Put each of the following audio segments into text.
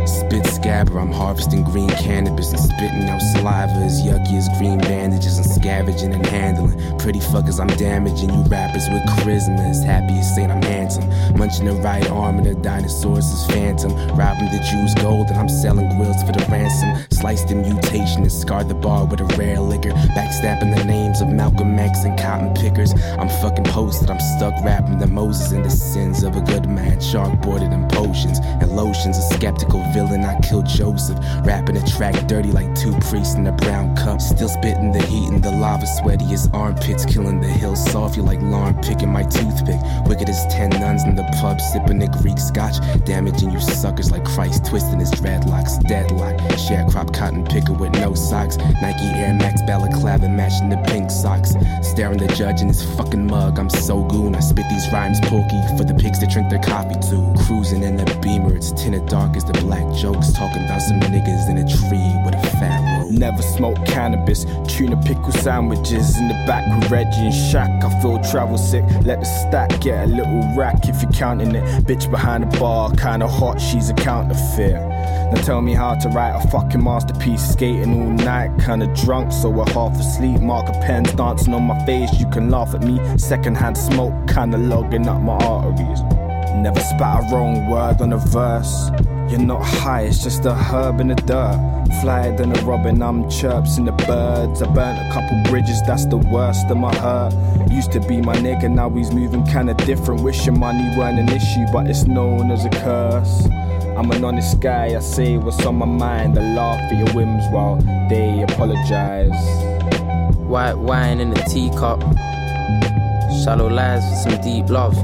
Spit scabber, I'm harvesting green cannabis and spitting out saliva as yucky as green bandages and scavenging and handling. Pretty fuckers, I'm damaging you rappers with charisma. As happy as saying I'm handsome. Munching the right arm and the dinosaurs is phantom. Robbing the Jews gold and I'm selling grills for the ransom. Sliced the mutation and scarred the bar with a rare liquor. Backstabbing the names of Malcolm X and cotton pickers. I'm fucking posted, I'm stuck rapping the Moses and the sins of a good man. Chalkboarded and potions and lotions. A skeptical villain, I killed Joseph. Rapping a track dirty like two priests in a brown cup. Still spitting the heat and the lava sweaty as armpits. Killing the hills soft, you like Lauren picking my toothpick. Wicked as 10 nuns in the pub sipping the Greek scotch. Damaging you suckers like Christ twisting his dreadlocks. Deadlock, sharecrop cotton picker with no socks. Nike Air Max balaclava matching the pink socks. Staring the judge in his fucking mug, I'm so goon. I spit these rhymes porky for the pigs that drink their coffee too. Cruising in the Beamer, it's tinted dark as the black jokes. Talking about some niggas in a tree with a fat robe. Never smoked cannabis, tuna pickle sandwiches in the back with Reggie and Shaq. I feel travel sick, let the stack get a little rack if you're counting it. Bitch behind the bar, kinda hot, she's a counterfeit. Now tell me how to write a fucking masterpiece. Skating all night, kinda drunk, so we're half asleep. Marker pens dancing on my face, you can laugh at me. Secondhand smoke, kinda logging up my arteries. Never spat a wrong word on a verse. You're not high, it's just a herb in the dirt. Flyer than a robin, I'm chirps in the birds. I burnt a couple bridges, that's the worst of my hurt. Used to be my nigga, now he's moving kinda different. Wishing money weren't an issue, but it's known as a curse. I'm an honest guy, I say what's on my mind. I laugh at your whims while they apologize. White wine in a teacup. Shallow lies for some deep love.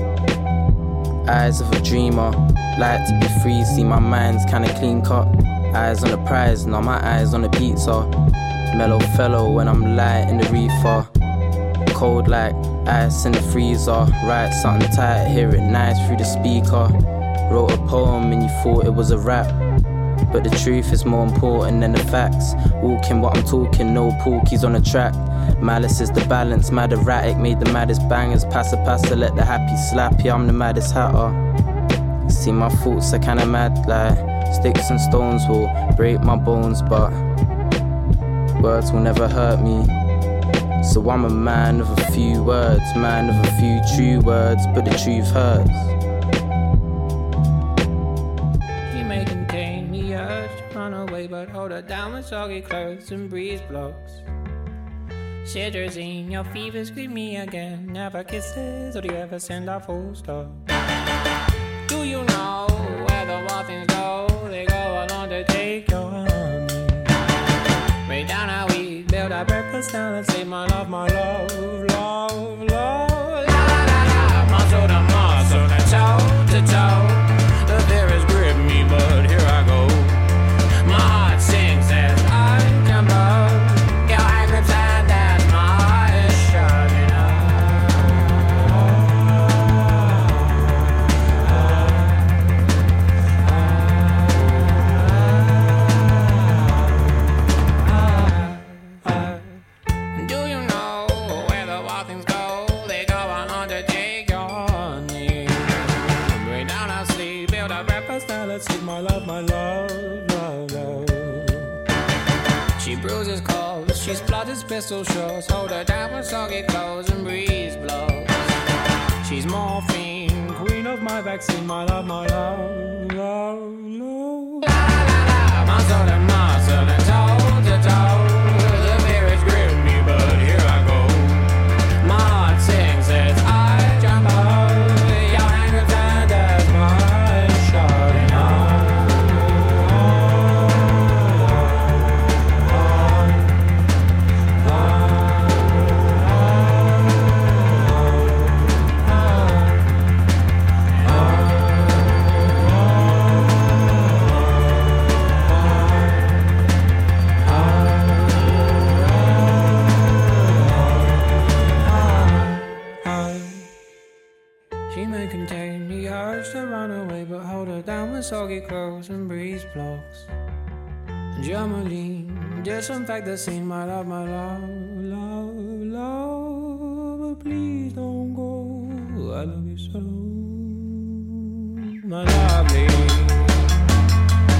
Eyes of a dreamer, like to be free, see my mind's kinda clean cut. Eyes on the prize, now my eyes on the pizza. Mellow fellow when I'm light in the reefer. Cold like ice in the freezer. Write something tight, hear it nice through the speaker. Wrote a poem and you thought it was a rap, but the truth is more important than the facts. Walking what I'm talking, no porkies on the track. Malice is the balance, mad erratic, made the maddest bangers. Passa, let the happy slap, yeah, I'm the maddest hatter. See my thoughts are kinda mad, like sticks and stones will break my bones, but words will never hurt me. So I'm a man of a few words, man of a few true words, but the truth hurts. She may contain the urge to run away, but hold her down with soggy clothes and breeze blocks. Cetirizine, your fevers greet me again. Never kisses, or do you ever send a full stop? Do you know where the wild things go? They go along to take your honey. Way down how we build our breakfast down and say my love, love, love. La la la la, muscle to muscle, and toe to toe. The fear has gripped me, but here I go. My heart sings as I jump up. Your hand grips and as my eyes shutting Do you know where the wild things go? They go on to take your honey. Way down our sleep, build our breakfast, now let's eat my love, love, love. She bruises calls, she splutters pistol shots. Hold her down with soggy clothes and breeze blows. She's morphine, queen of my vaccine, my love, love, love. La la la, muscle and muscle and toe to toe. The fear has gripped me, but here I go. My heart sings as I jump up. Your hand grips and as my eyes shutting She may contain the urge to run away, but hold her down with soggy clothes and breeze blocks. Germaline, disinfect the scene, my love, love, love. But please don't go, I love you so, my lovely.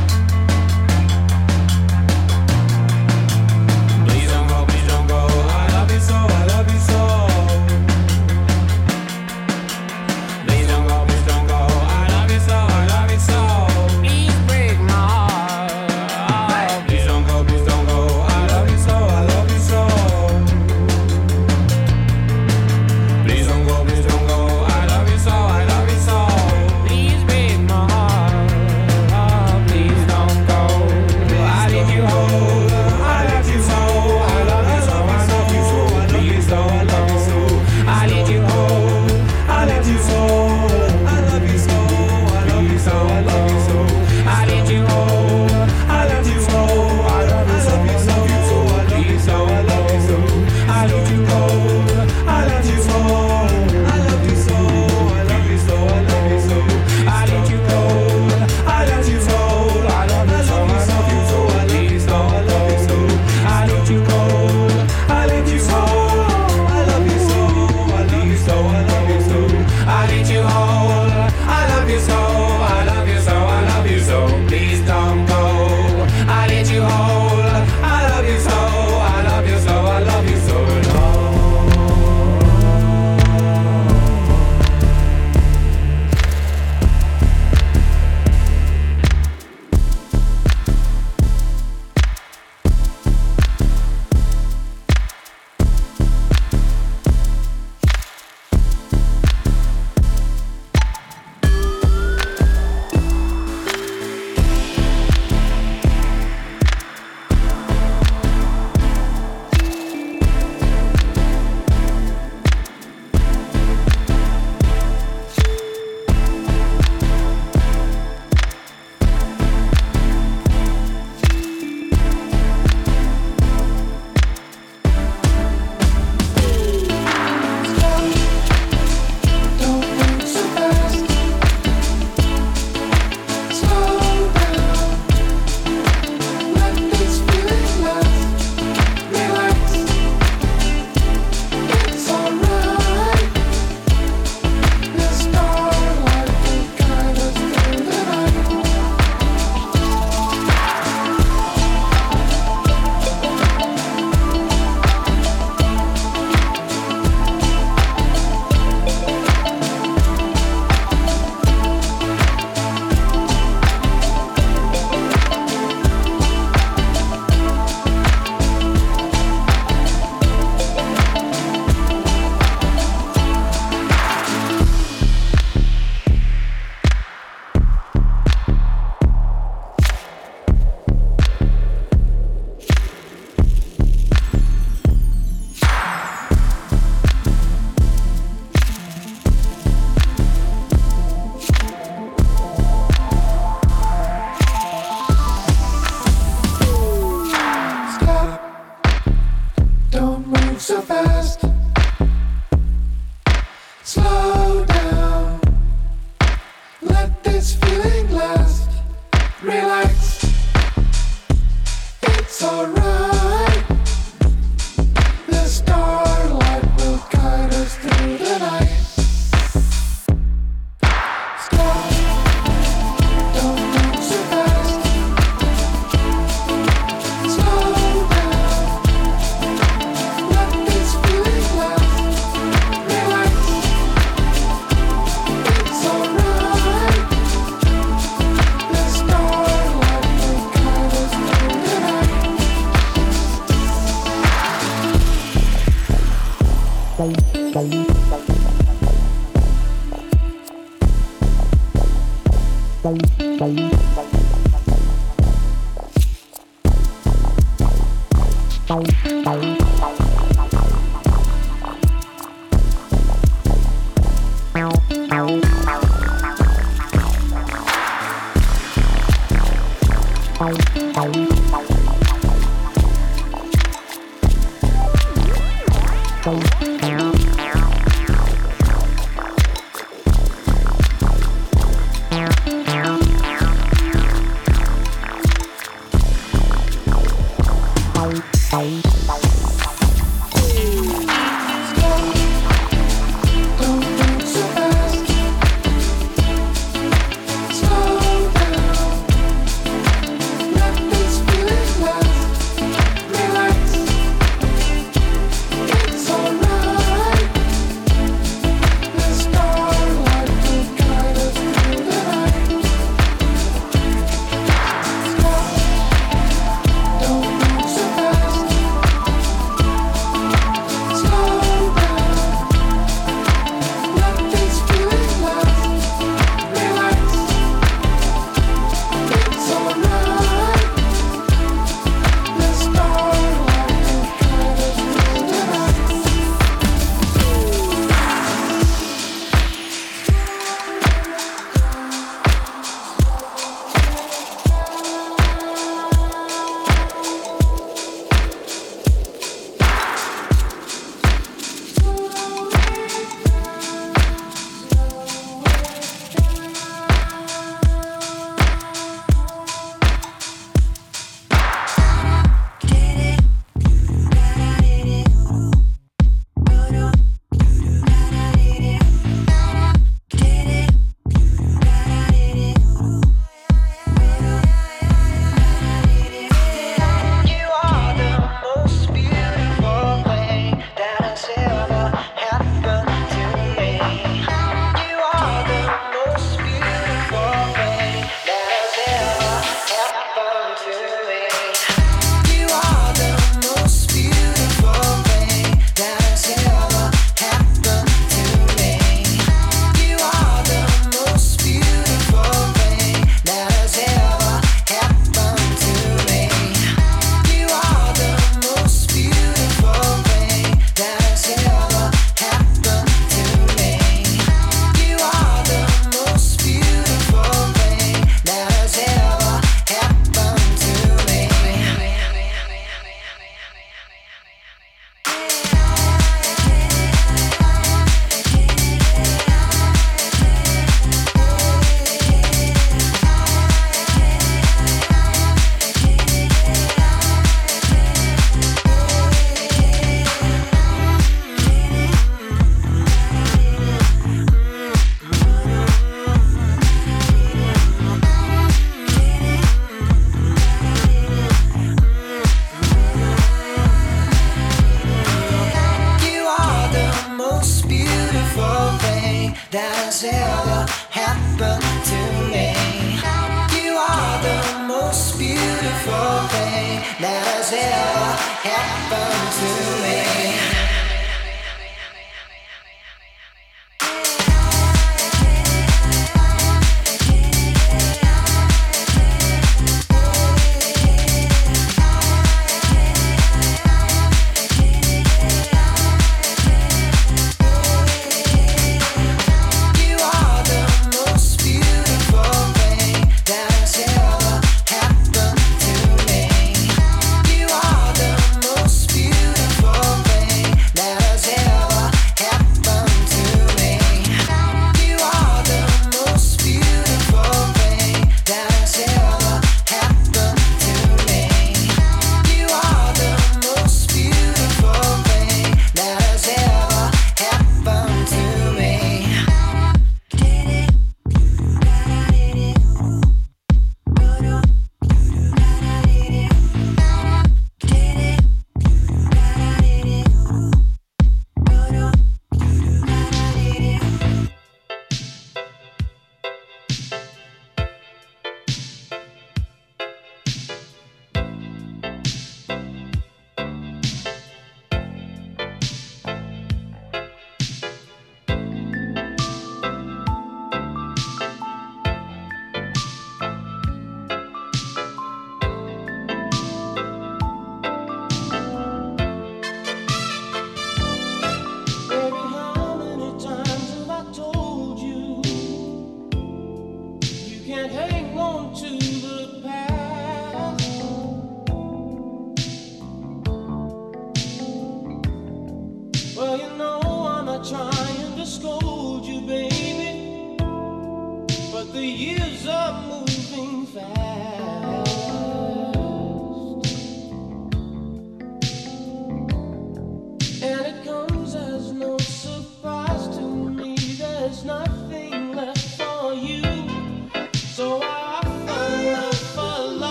that has ever happened to